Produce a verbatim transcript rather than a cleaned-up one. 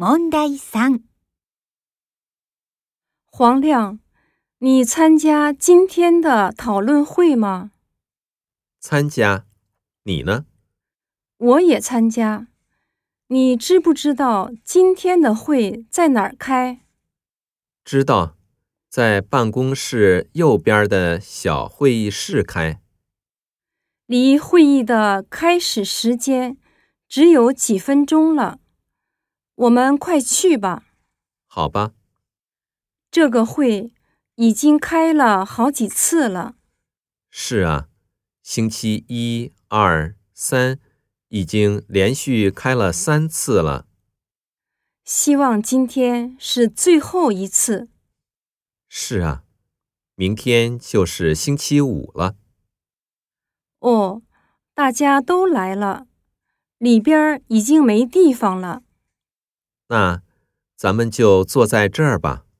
問題さん。 黄亮，你参加今天的讨论会吗？ 参加。你呢？ 我也参加。你知不知道今天的会在哪儿开？ 知道，在办公室右边的小会议室开。 离会议的开始时间只有几分钟了，我们快去吧。 好吧。 这个会已经开了好几次了。 是啊，星期一、二、三已经连续开了三次了。 希望今天是最后一次。 是啊，明天就是星期五了。 哦，大家都来了，里边已经没地方了。 那咱们就坐在这儿吧。